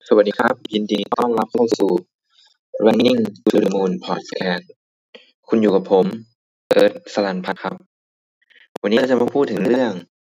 สวัสดีครับยินดีต้อนรับเข้าสู่ Running to the Moon Podcast คุณอยู่กับผมเอิร์ธสรัญพัฒน์ครับวันนี้เราจะมาพูดถึงเรื่อง